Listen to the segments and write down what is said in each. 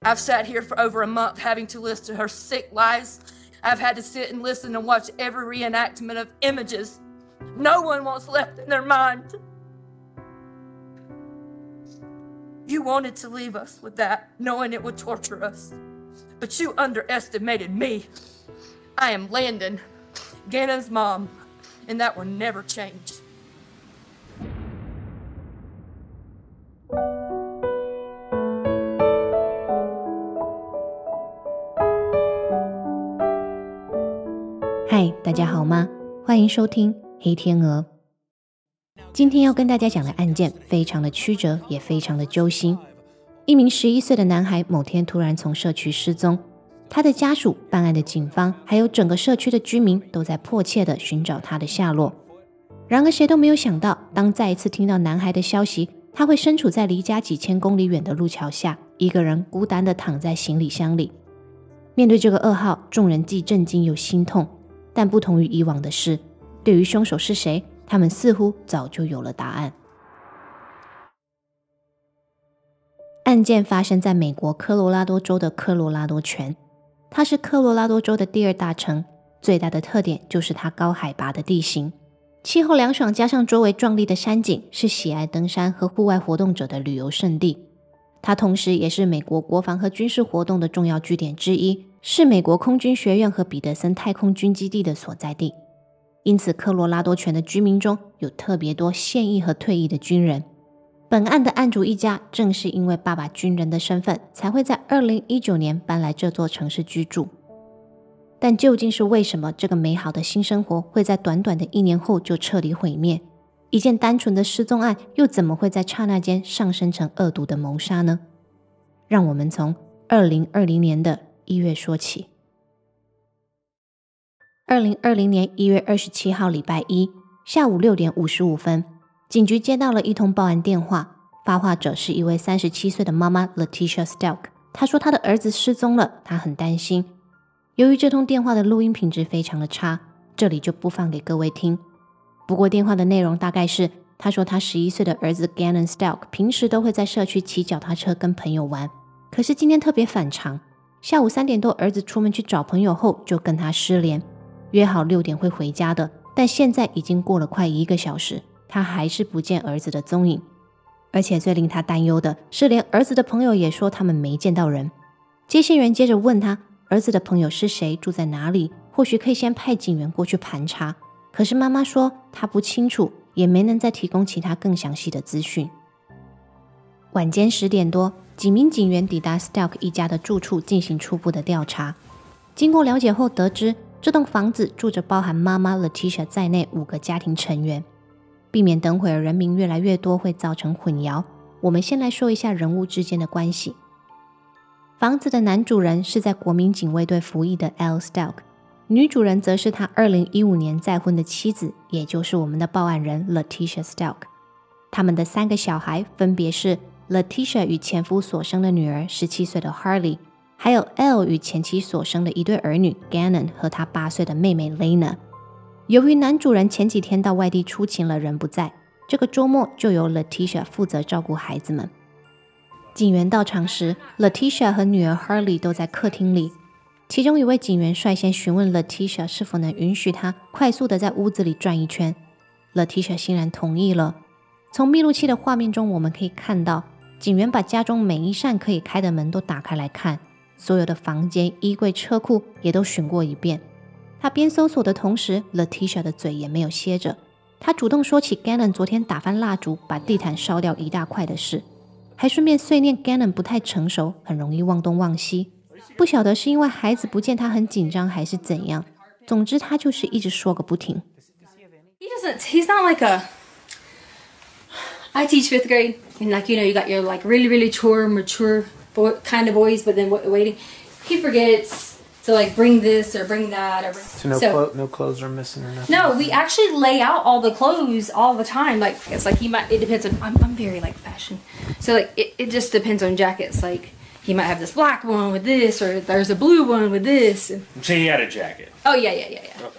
I've sat here for over a month having to listen to her sick lies. I've had to sit and listen and watch every reenactment of images no one wants left in their mind. You wanted to leave us with that, knowing it would torture us. But you underestimated me. I am Landon, Gannon's mom, and that will never change. 嗨，大家好吗？欢迎收听黑天鹅。今天要跟大家讲的案件非常的曲折，也非常的揪心。一名11岁的男孩某天突然从社区失踪，他的家属、办案的警方，还有整个社区的居民都在迫切地寻找他的下落。然而谁都没有想到，当再一次听到男孩的消息，他会身处在离家几千公里远的路桥下，一个人孤单地躺在行李箱里。面对这个噩耗，众人既震惊又心痛，但不同于以往的是，对于凶手是谁，他们似乎早就有了答案。案件发生在美国科罗拉多州的科罗拉多泉，它是科罗拉多州的第二大城，最大的特点就是它高海拔的地形，气候凉爽，加上周围壮丽的山景，是喜爱登山和户外活动者的旅游胜地。它同时也是美国国防和军事活动的重要据点之一，是美国空军学院和彼得森太空军基地的所在地。因此科罗拉多泉的居民中有特别多现役和退役的军人。本案的案主一家正是因为爸爸军人的身份，才会在2019年搬来这座城市居住。但究竟是为什么这个美好的新生活会在短短的1年后就彻底毁灭？一件单纯的失踪案又怎么会在刹那间上升成恶毒的谋杀呢？让我们从2020年的1月说起。2020年1月27号礼拜一下午6点55分，警局接到了一通报案电话，发话者是一位37岁的妈妈 Letitia Stelk。 她说她的儿子失踪了，她很担心。由于这通电话的录音品质非常的差，这里就不放给各位听。不过电话的内容大概是，她说她11岁的儿子 Gannon Stelk 平时都会在社区骑脚踏车跟朋友玩，可是今天特别反常，下午3点多儿子出门去找朋友后就跟他失联，约好6点会回家的，但现在已经过了快1个小时，他还是不见儿子的踪影。而且最令他担忧的是，连儿子的朋友也说他们没见到人。接线员接着问他，儿子的朋友是谁，住在哪里，或许可以先派警员过去盘查。可是妈妈说她不清楚，也没能再提供其他更详细的资讯。晚间10点多，几名警员抵达 Stelk 一家的住处进行初步的调查。经过了解后得知，这栋房子住着包含妈妈 Letitia 在内5个家庭成员。避免等会儿人名越来越多会造成混淆，我们先来说一下人物之间的关系。房子的男主人是在国民警卫队服役的 Al Stelk， 女主人则是他2015年再婚的妻子，也就是我们的报案人 Letitia Stelk。 他们的3个小孩分别是 Letitia 与前夫所生的女儿17岁的 Harley， 还有 Al 与前妻所生的一对儿女 Gannon 和他8岁的妹妹 Lena。由于男主人前几天到外地出勤了，人不在，这个周末就由 Letitia 负责照顾孩子们。警员到场时， Letitia 和女儿 Harley 都在客厅里。其中一位警员率先询问 Letitia 是否能允许她快速的在屋子里转一圈。 Letitia 欣然同意了。从密录器的画面中我们可以看到，警员把家中每一扇可以开的门都打开来看，所有的房间、衣柜、车库也都巡过一遍。他边搜索的同时， Letitia 的嘴也没有歇着。他主动说起 Gannon 昨天打翻蜡烛，把地毯烧掉1大块的事，还顺便碎念 Gannon 不太成熟，很容易忘东忘西。不晓得是因为孩子不见他很紧张还是怎样，总之他就是一直说个不停。 He's not like a... I teach 5th grade, and you got your really mature kind of boys, but then waiting. He forgets to bring this or bring that. So no clothes are missing or nothing? No, we actually lay out all the clothes all the time. It's it depends on, I'm very fashion. So it just depends on jackets. He might have this black one with this, or there's a blue one with this. So he had a jacket? Oh, yeah. Okay.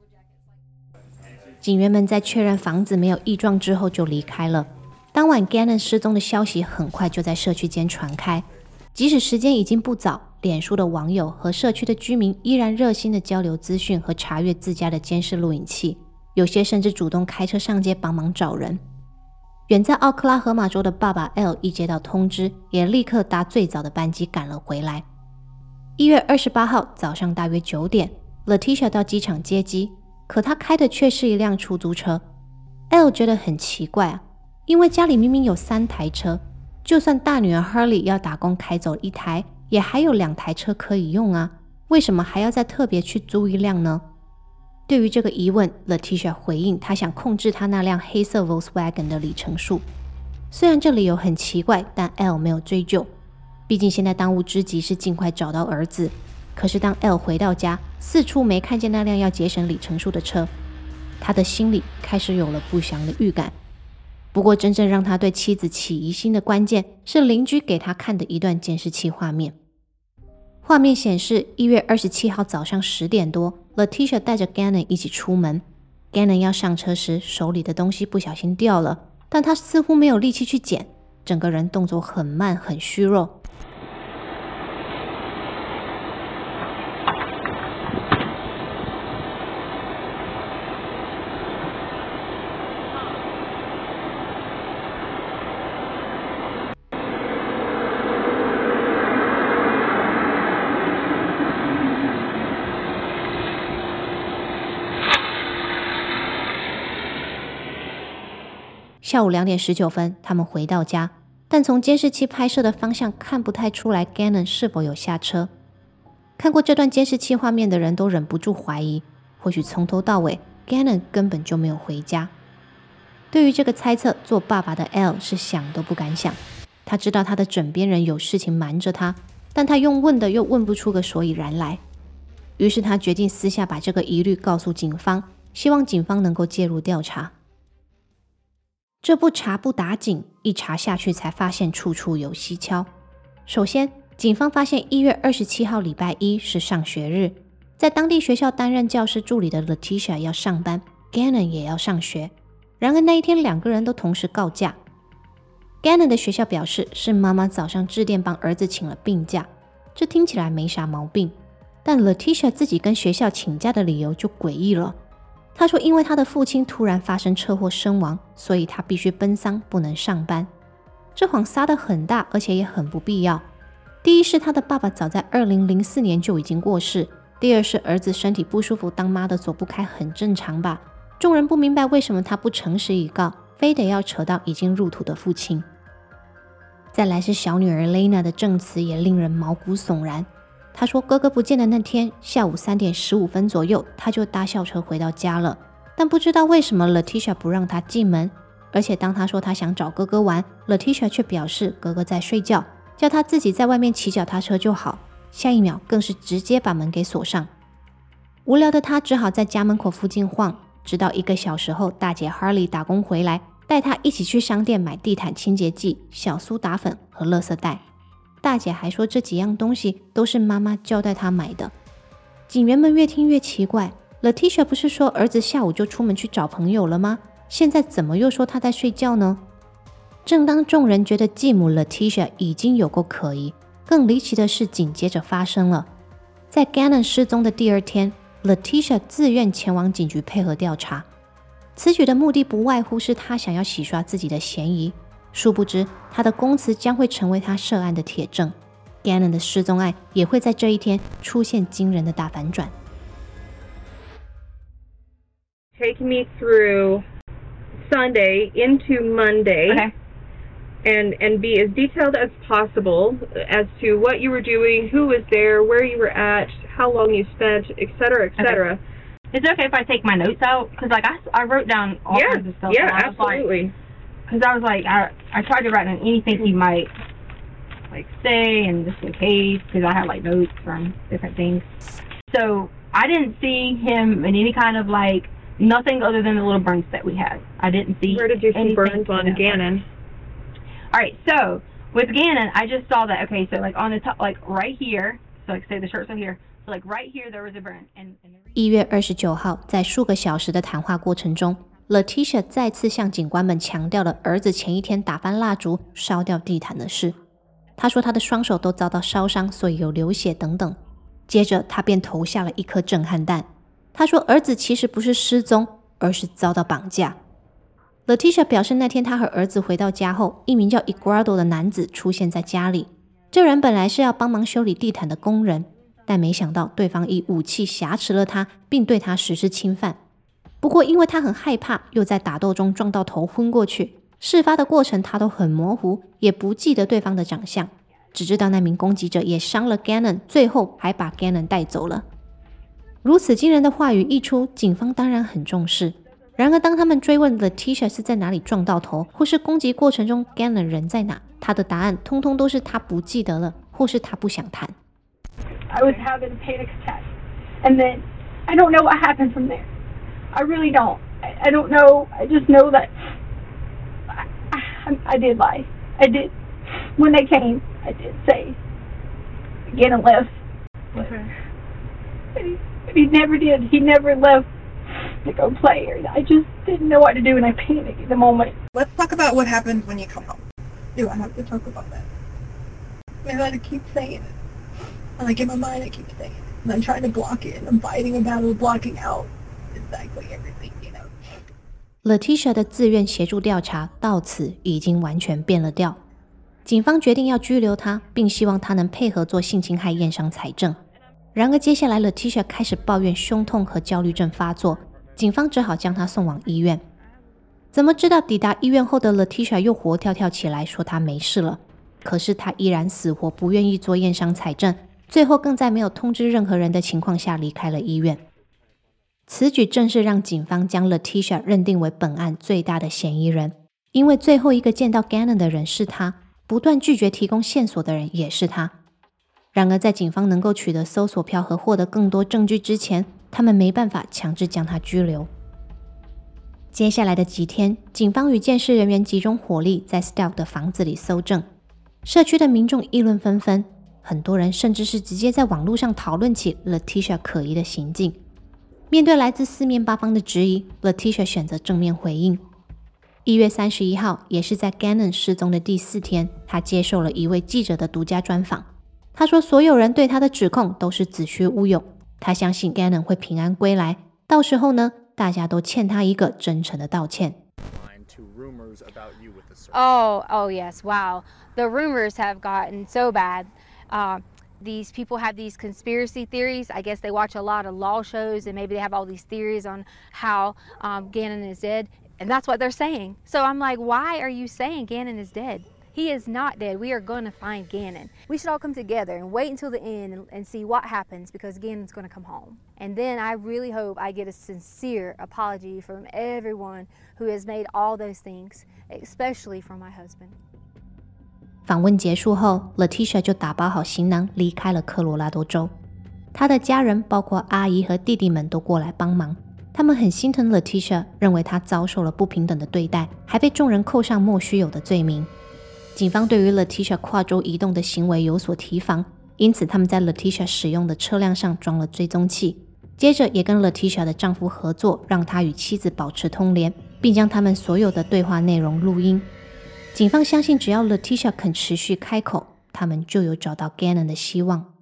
警员们在确认房子没有异状之后就离开了。当晚 Gannon 失踪的消息很快就在社区间传开， 即使时间已经不早，脸书的网友和社区的居民依然热心的交流资讯和查阅自家的监视录影器，有些甚至主动开车上街帮忙找人。远在奥克拉荷马州的爸爸 L 一接到通知，也立刻搭最早的班机赶了回来。1月28号早上大约9点 Letitia 到机场接机，可他开的却是一辆出租车。 L 觉得很奇怪啊，因为家里明明有3台车，就算大女儿 Harley 要打工开走1台，也还有2台车可以用啊，为什么还要再特别去租一辆呢？对于这个疑问， Letitia 回应她想控制她那辆黑色 Volkswagen 的里程数。虽然这理由很奇怪，但 L 没有追究，毕竟现在当务之急是尽快找到儿子。可是当 L 回到家，四处没看见那辆要节省里程数的车，他的心里开始有了不祥的预感。不过真正让他对妻子起疑心的关键是邻居给他看的一段监视器画面。画面显示1月27号早上10点多， Letitia 带着 Gannon 一起出门。 Gannon 要上车时，手里的东西不小心掉了，但他似乎没有力气去捡，整个人动作很慢很虚弱。下午2点19分，他们回到家，但从监视器拍摄的方向看不太出来 Gannon 是否有下车。看过这段监视器画面的人都忍不住怀疑，或许从头到尾 Gannon 根本就没有回家。对于这个猜测，做爸爸的 L 是想都不敢想。他知道他的枕边人有事情瞒着他，但他用问的又问不出个所以然来。于是他决定私下把这个疑虑告诉警方，希望警方能够介入调查。这不查不打紧，一查下去才发现处处有蹊跷。首先，警方发现1月27号礼拜一是上学日，在当地学校担任教师助理的 Letitia 要上班， Gannon 也要上学。然而那一天2个人都同时告假。Gannon 的学校表示是妈妈早上致电帮儿子请了病假，这听起来没啥毛病，但 Letitia 自己跟学校请假的理由就诡异了。他说因为他的父亲突然发生车祸身亡，所以他必须奔丧，不能上班。这谎撒得很大，而且也很不必要。第一是他的爸爸早在2004年就已经过世，第二是儿子身体不舒服，当妈的走不开很正常吧。众人不明白为什么他不诚实以告，非得要扯到已经入土的父亲。再来是小女儿 Lena 的证词也令人毛骨悚然。他说哥哥不见的那天下午3点15分左右，他就搭校车回到家了，但不知道为什么 Letitia 不让他进门，而且当他说他想找哥哥玩， Letitia 却表示哥哥在睡觉，叫他自己在外面骑脚踏车就好，下一秒更是直接把门给锁上。无聊的他只好在家门口附近晃，直到1个小时后，大姐 Harley 打工回来，带他一起去商店买地毯清洁剂、小苏打粉和垃圾袋。大姐还说这几样东西都是妈妈交代她买的。警员们越听越奇怪， Letitia 不是说儿子下午就出门去找朋友了吗？现在怎么又说他在睡觉呢？正当众人觉得继母 Letitia 已经有够可疑，更离奇的事紧接着发生了。在 Gannon 失踪的第2天， Letitia 自愿前往警局配合调查。此举的目的不外乎是她想要洗刷自己的嫌疑，殊不知他的供词将会成为他涉案的铁证。 Gannon 的失踪案也会在这一天出现惊人的大反转。 Take me through Sunday into Monday. Okay. And be as detailed as possible as to what you were doing, who was there, where you were at, how long you spent, etc., etc. Okay. Is it okay if I take my notes out? Because like I wrote down all kinds of stuff. Yeah, and I was absolutely. Because I was like, I tried to write down anything he might like say, and just in case, because I had like notes from different things. So I didn't see him in any kind of like nothing other than the little burns that we had. I didn't see. Where did you see burns on Gannon? All right, so with Gannon, I just saw that. Okay, so like on the top, like right here. So like say the shirt's right here. So like right here there was a burn. And 1月29号，在数个小时的谈话过程中， Letitia 再次向警官们强调了儿子前一天打翻蜡烛、烧掉地毯的事。 他说他的双手都遭到烧伤，所以有流血等等。接着他便投下了一颗震撼弹，他说儿子其实不是失踪，而是遭到绑架。Letitia 表示那天他和儿子回到家后，一名叫 Eduardo 的男子出现在家里，这人本来是要帮忙修理地毯的工人，但没想到对方以武器挟持了他，并对他实施侵犯。不过因为他很害怕，又在打斗中撞到头昏过去，事发的过程他都很模糊，也不记得对方的长相，只知道那名攻击者也伤了 Gannon， 最后还把 Gannon 带走了。如此惊人的话语一出，警方当然很重视。然而当他们追问 Letitia 是在哪里撞到头，或是攻击过程中 Gannon 人在哪，他的答案通通都是他不记得了，或是他不想谈。 I was having a panic attack, and then I don't know what happened from there. I really don't. I don't know. I just know that I did lie. I did. When they came, I did say, Gannon left. Okay. But he never did. He never left to go play. I just didn't know what to do, and I panicked at the moment. Let's talk about what happened when you come home. Do I have to talk about that? Maybe I keep saying it. And like in my mind I keep saying it. And I'm trying to block it. And I'm fighting a battle blocking out exactly everything, you know. Letitia 的自愿协助调查到此已经完全变了调。警方决定要拘留他，并希望他能配合做性侵害验伤采证。然而接下来 Letitia 开始抱怨胸痛和焦虑症发作，警方只好将他送往医院。怎么知道抵达医院后的 Letitia 又活跳跳起来，说他没事了。可是他依然死活不愿意做验伤采证，最后更在没有通知任何人的情况下离开了医院。此举正是让警方将 Letitia 认定为本案最大的嫌疑人，因为最后一个见到 Gannon 的人是他，不断拒绝提供线索的人也是他。然而在警方能够取得搜索票和获得更多证据之前，他们没办法强制将他拘留。接下来的几天，警方与监视人员集中火力在 Stelk 的房子里搜证，社区的民众议论纷纷，很多人甚至是直接在网络上讨论起 Letitia 可疑的行径。面对来自四面八方的质疑， Letitia 选择正面回应。1月31号，也是在 Gannon 失踪的第4天，他接受了一位记者的独家专访。他说所有人对他的指控都是子虚乌有，他相信 Gannon 会平安归来，到时候呢，大家都欠他一个真诚的道歉。 Oh, yes, wow. The rumors have gotten so bad. These people have these conspiracy theories. I guess they watch a lot of law shows and maybe they have all these theories on how Gannon is dead. And that's what they're saying. So I'm like, why are you saying Gannon is dead? He is not dead. We are going to find Gannon. We should all come together and wait until the end and see what happens because Gannon's going to come home. And then I really hope I get a sincere apology from everyone who has made all those things, especially from my husband. 访问结束后 Letitia 就打包好行囊离开了科罗拉多州。她的家人包括阿姨和弟弟们都过来帮忙，他们很心疼 Letitia， 认为她遭受了不平等的对待，还被众人扣上莫须有的罪名。警方对于 Letitia 跨州移动的行为有所提防，因此他们在 Letitia 使用的车辆上装了追踪器，接着也跟 Letitia 的丈夫合作，让他与妻子保持通联，并将他们所有的对话内容录音。警方相信只要 Letitia 肯持续开口，他们就有找到 Gannon 的希望。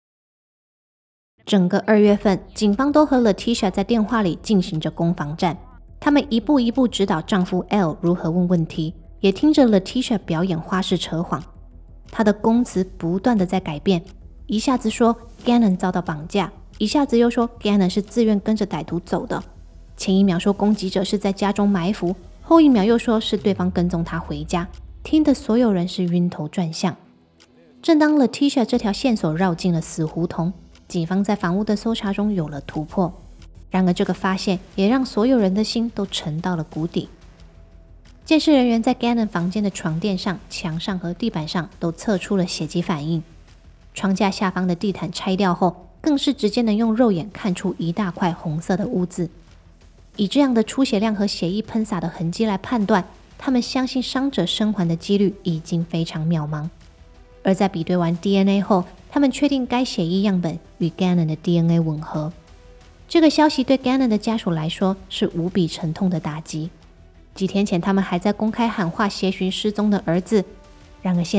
整个2月份，警方都和 Letitia 在电话里进行着攻防战，他们一步一步指导丈夫 L 如何问问题，也听着 Letitia 表演花式扯谎。她的供词不断的在改变，一下子说 Gannon 遭到绑架，一下子又说 Gannon 是自愿跟着歹徒走的，前一秒说攻击者是在家中埋伏，后一秒又说是对方跟踪他回家，听得所有人是晕头转向。正当 Letitia 这条线索绕进了死胡同，警方在房屋的搜查中有了突破。然而这个发现也让所有人的心都沉到了谷底。监视人员在 Gannon 房间的床垫上、墙上和地板上都测出了血迹反应。床架下方的地毯拆掉后，更是直接能用肉眼看出一大块红色的污渍。以这样的出血量和血液喷洒的痕迹来判断，他们相信伤者生还的几率已经非常渺茫。而在比对完 DNA 后，他们确定该血液样本与 Gannon 的 DNA 吻合。这个消息对 Gannon 的家属来说是无比沉痛的打击。几天前他们还在公开喊话协寻失踪的儿子，然而现在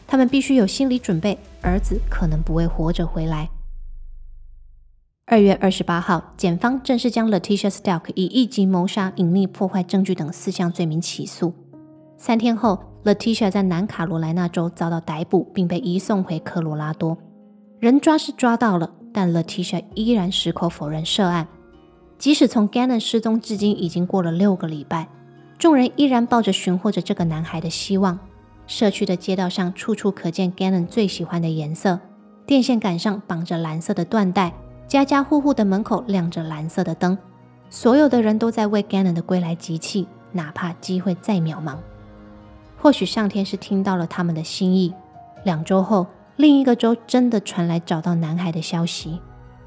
他们必须有心理准备，儿子可能不会活着回来。2月28号，检方正式将 Letitia Stelk 以1级谋杀、隐匿破坏证据等4项罪名起诉。3天后， Letitia 在南卡罗来纳州遭到逮捕，并被移送回科罗拉多。人抓是抓到了，但 Letitia 依然矢口否认涉案。即使从 Gannon 失踪至今已经过了6个礼拜，众人依然抱着寻获着这个男孩的希望。社区的街道上处处可见 Gannon 最喜欢的颜色，电线杆上绑着蓝色的缎带，家家户户的门口亮着蓝色的灯，所有的人都在为 Gannon 的归来集气，哪怕机会再渺茫。或许上天是听到了他们的心意，2周后，另一个州真的传来找到男孩的消息。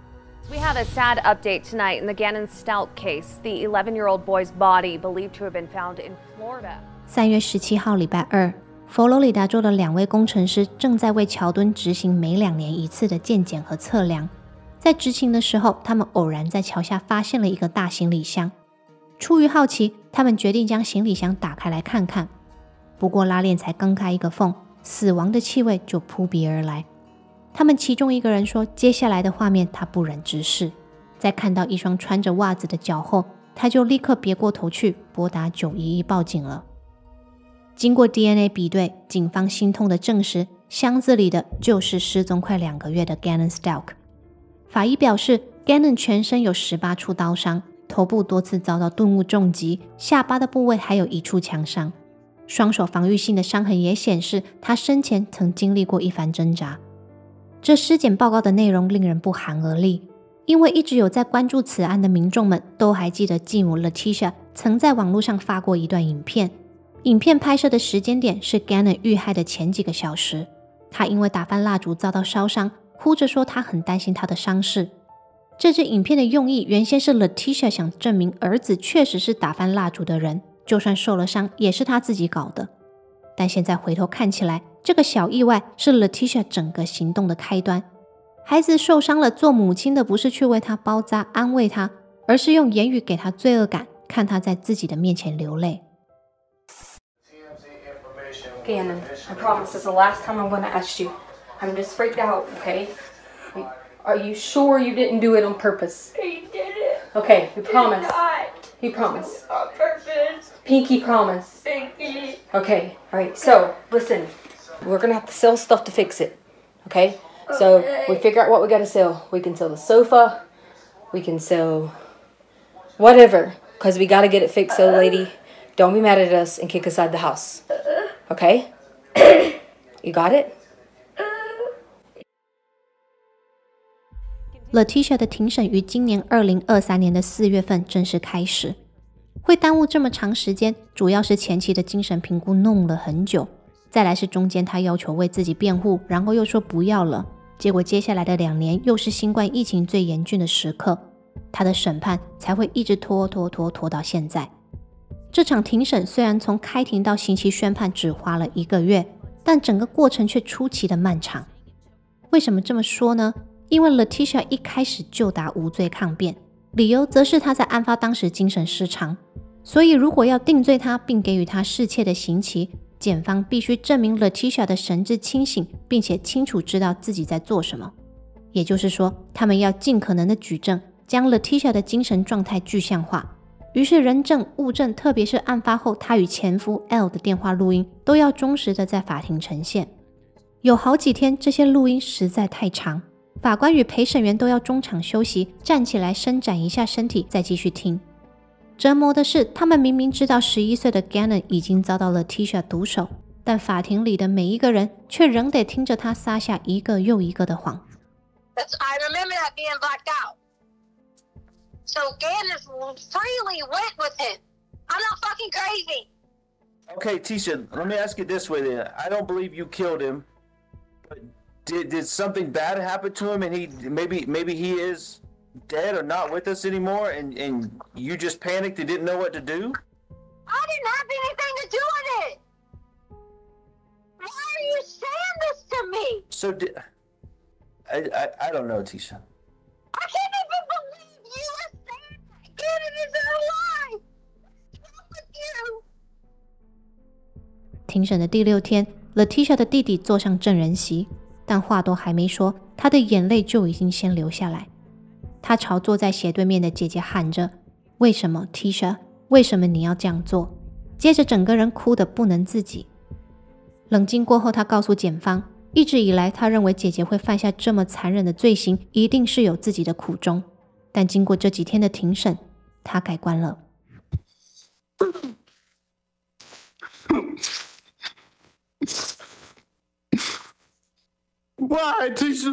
We have a sad update tonight in the Gannon Stelk case. The 11-year-old boy's body believed to have been found in Florida. 3月17号，礼拜二，佛罗里达州的2位工程师正在为桥墩执行每2年一次的健检和测量。在执勤的时候，他们偶然在桥下发现了一个大行李箱。出于好奇，他们决定将行李箱打开来看看。不过拉链才刚开一个缝，死亡的气味就扑鼻而来。他们其中一个人说，接下来的画面他不忍直视。在看到一双穿着袜子的脚后，他就立刻别过头去拨打911报警了。经过 DNA 比对，警方心痛地证实，箱子里的就是失踪快2个月的 Gannon Stelk。法医表示， Gannon 全身有18处刀伤，头部多次遭到钝物重击，下巴的部位还有1处枪伤。双手防御性的伤痕也显示，他生前曾经历过一番挣扎。这尸检报告的内容令人不寒而栗，因为一直有在关注此案的民众们都还记得继母 Letitia 曾在网络上发过一段影片。影片拍摄的时间点是 Gannon 遇害的前几个小时。他因为打翻蜡烛遭到烧伤，哭着说他很担心他的伤势。这支影片的用意原先是 Letitia 想证明儿子确实是打翻蜡烛的人，就算受了伤也是他自己搞的。但现在回头看起来，这个小意外是 Letitia 整个行动的开端。孩子受伤了，做母亲的不是去为他包扎安慰他，而是用言语给他罪恶感，看他在自己的面前流泪。 Gannon, I promise this is the last time I'm going to ask you. I'm just freaked out, okay? Are you sure you didn't do it on purpose? He did it. Okay, you promise. He You promise. on purpose. Pinky promise. Pinky. Okay, alright, so listen. We're going to have to sell stuff to fix it, okay? So we figure out what we got to sell. We can sell the sofa. We can sell whatever, because we got to get it fixed, so lady. Don't be mad at us and kick us out of the house. Okay? You got it? Letitia 的庭审于今年2023年的4月份正式开始。会耽误这么长时间，主要是前期的精神评估弄了很久，再来是中间他要求为自己辩护，然后又说不要了，结果接下来的2年又是新冠疫情最严峻的时刻，他的审判才会一直拖到现在。这场庭审虽然从开庭到刑期宣判只花了1个月，但整个过程却出奇的漫长。为什么这么说呢？因为 Letitia 一开始就打无罪抗辩，理由则是他在案发当时精神失常，所以如果要定罪他并给予他适切的刑期，检方必须证明 Letitia 的神志清醒，并且清楚知道自己在做什么。也就是说，他们要尽可能的举证，将 Letitia 的精神状态具象化。于是人证物证，特别是案发后他与前夫 L 的电话录音，都要忠实的在法庭呈现。有好几天这些录音实在太长，法官与陪审员都要中场休息，站起来伸展一下身体再继续听。折磨的是，他们明明知道11岁的 Gannon 已经遭到了 Letitia 毒手，但法庭里的每一个人却仍得听着他撒下一个又一个的谎。 I remember that being blacked out. So Gannon freely went with him. I'm not fucking crazy. Okay, Tisha, let me ask it this way then. I don't believe you killed him. But did something bad happen to him and he maybe he is dead or not with us anymore and you just panicked and didn't know what to do? I didn't have anything to do with it. Why are you saying this to me? So I don't know, Tisha. I can't even believe you are saying that Gannon is alive. What's wrong with you? 庭审的第6天 Letitia 的弟弟坐上证人席，但话都还没说，他的眼泪就已经先流下来。他朝坐在斜对面的姐姐喊着：为什么 Tisha？ 为什么你要这样做？接着整个人哭得不能自己。冷静过后，他告诉检方，一直以来他认为姐姐会犯下这么残忍的罪行，一定是有自己的苦衷。但经过这几天的庭审，他改观了。 Why, Tisha?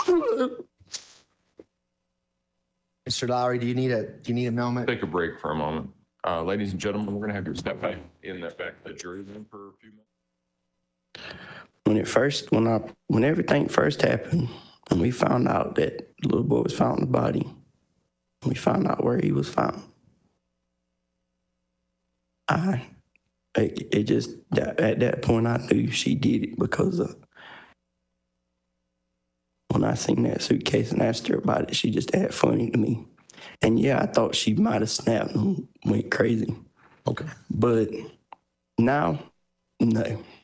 Mr. Lowry, do you need a moment? Take a break for a moment. Ladies and gentlemen, we're going to have you step back in that back of the jury room for a few minutes. When everything first happened, and we found out that the little boy was found in the body, and we found out where he was found, at that point I knew she did it because when I seen that suitcase and asked her about it, she just acted funny to me. And yeah, I thought she might have snapped and went crazy. Okay. But now, no.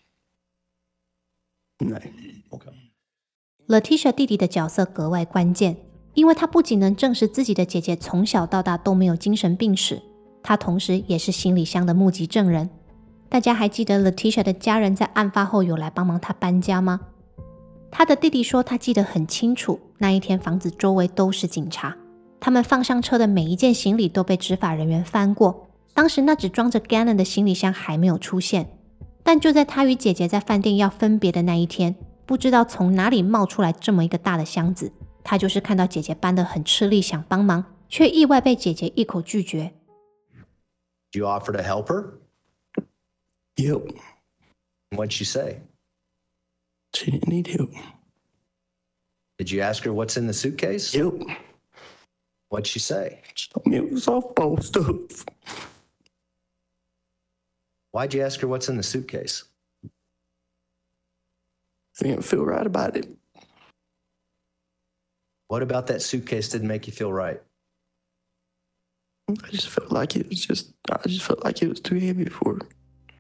Okay. Letitia 弟弟的角色格外关键，因为他不仅能证实自己的姐姐从小到大都没有精神病史，他同时也是行李箱的目击证人。大家还记得 Letitia 的家人在案发后有来帮忙他搬家吗？他的弟弟说他记得很清楚，那一天房子周围都是警察，他们放上车的每一件行李都被执法人员翻过，当时那只装着 Gannon 的行李箱还没有出现。但就在他与姐姐在饭店要分别的那一天，不知道从哪里冒出来这么一个大的箱子，他就是看到姐姐搬得很吃力想帮忙，却意外被姐姐一口拒绝。 You offer to help her? Yep. What'd she say? She didn't need help. Did you ask her what's in the suitcase? Yep. What'd she say? She told me it was softball stuff. Why'd you ask her what's in the suitcase? I didn't feel right about it. What about that suitcase didn't make you feel right? I just felt like it was too heavy for her.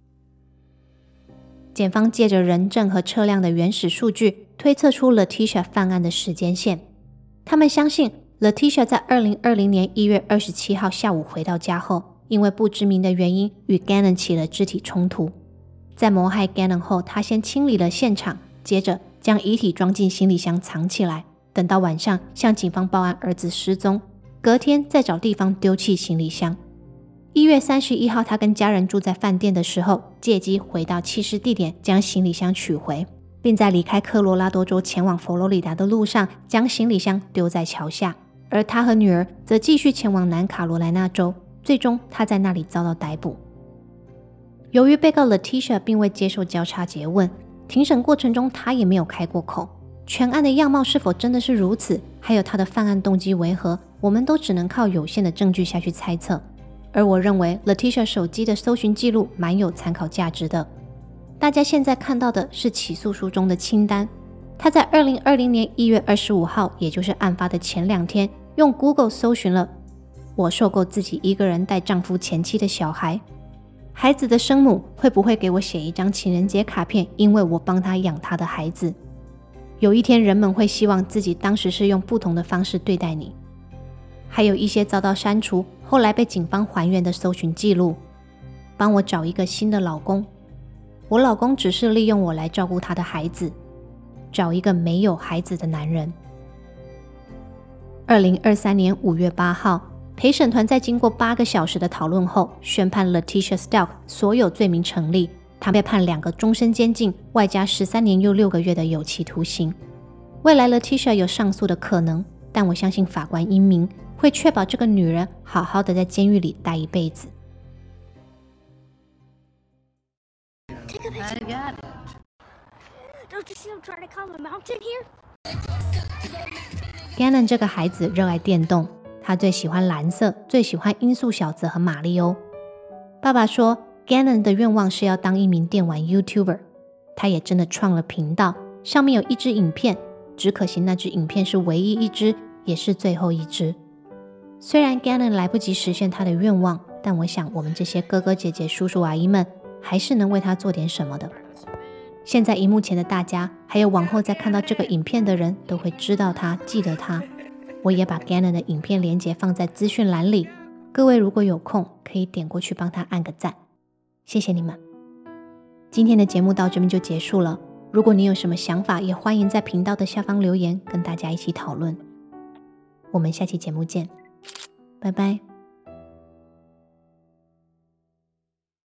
检方借着人证和车辆的原始数据，推测出 Letitia 犯案的时间线。他们相信 Letitia 在2020年1月27号下午回到家后，因为不知名的原因与 Gannon 起了肢体冲突。在谋害 Gannon 后，他先清理了现场，接着将遗体装进行李箱藏起来，等到晚上向警方报案儿子失踪，隔天再找地方丢弃行李箱。1月31号，他跟家人住在饭店的时候，借机回到弃尸地点将行李箱取回，并在离开科罗拉多州前往佛罗里达的路上将行李箱丢在桥下。而他和女儿则继续前往南卡罗来纳州，最终他在那里遭到逮捕。由于被告 Letitia 并未接受交叉诘问，庭审过程中他也没有开过口，全案的样貌是否真的是如此，还有他的犯案动机为何，我们都只能靠有限的证据下去猜测。而我认为 Letitia 手机的搜寻记录蛮有参考价值的。大家现在看到的是起诉书中的清单，他在2020年1月25号，也就是案发的前2天，用 Google 搜寻了我受够自己一个人带丈夫前妻的小孩，孩子的生母会不会给我写一张情人节卡片，因为我帮他养他的孩子。有一天人们会希望自己当时是用不同的方式对待你。还有一些遭到删除，后来被警方还原的搜寻记录。帮我找一个新的老公，我老公只是利用我来照顾他的孩子，找一个没有孩子的男人。2023年5月8号，陪审团在经过8个小时的讨论后，宣判 Letitia Stelk 所有罪名成立，她被判2个终身监禁，外加13年又6个月的有期徒刑。未来 Letitia 有上诉的可能，但我相信法官英明，会确保这个女人好好的在监狱里待一辈子。 Take a picture. I got it. Don't you see him trying to climb a mountain here? Gannon 这个孩子热爱电动，他最喜欢蓝色，最喜欢音速小子和马里欧。爸爸说 Gannon 的愿望是要当一名电玩 YouTuber， 他也真的创了频道，上面有一支影片，只可惜那支影片是唯一一支，也是最后一支。虽然 Gannon 来不及实现他的愿望，但我想我们这些哥哥姐姐叔叔阿姨们还是能为他做点什么的。 现在荧幕前的大家，还有往后再看到这个影片的人，都会知道他，记得他。我也把 Gannon 的影片连结放在资讯栏里，各位如果有空，可以点过去帮他按个赞，谢谢你们。今天的节目到这边就结束了，如果你有什么想法，也欢迎在频道的下方留言，跟大家一起讨论。我们下期节目见，拜拜。